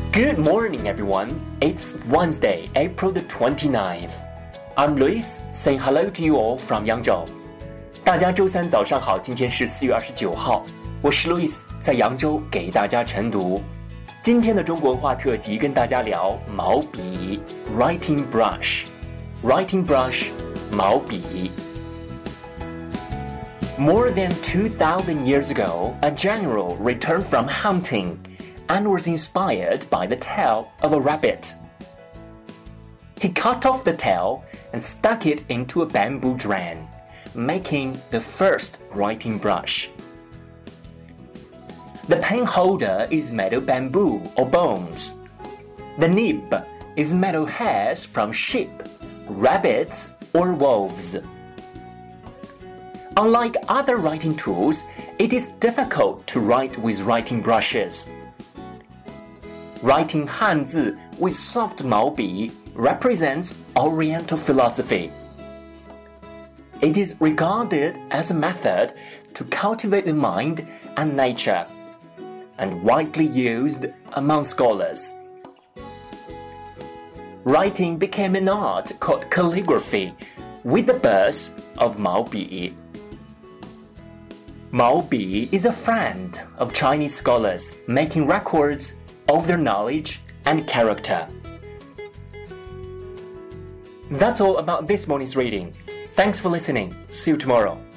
Good morning, everyone. It's Wednesday, April the 29th. I'm Luis, saying hello to you all from 扬州。大家周三早上好，今天是4月29号，我是 Luis， 在扬州给大家晨读。今天的中国文化特辑跟大家聊毛笔 （writing brush）。Writing brush， 毛笔。More than 2,000 years ago, a general returned from hunting and was inspired by the tail of a rabbit. He cut off the tail and stuck it into a bamboo drum, making the first writing brush. The pen holder is made of bamboo or bones. The nib is made of hairs from sheep, rabbits, or wolves. Unlike other writing tools, it is difficult to write with writing brushes. Writing 汉字 with soft 毛笔 represents Oriental philosophy. It is regarded as a method to cultivate the mind and nature, and widely used among scholars. Writing became an art called calligraphy with the birth of 毛笔. 毛笔 is a friend of Chinese scholars, making records of their knowledge and character. That's all about this morning's reading. Thanks for listening. See you tomorrow.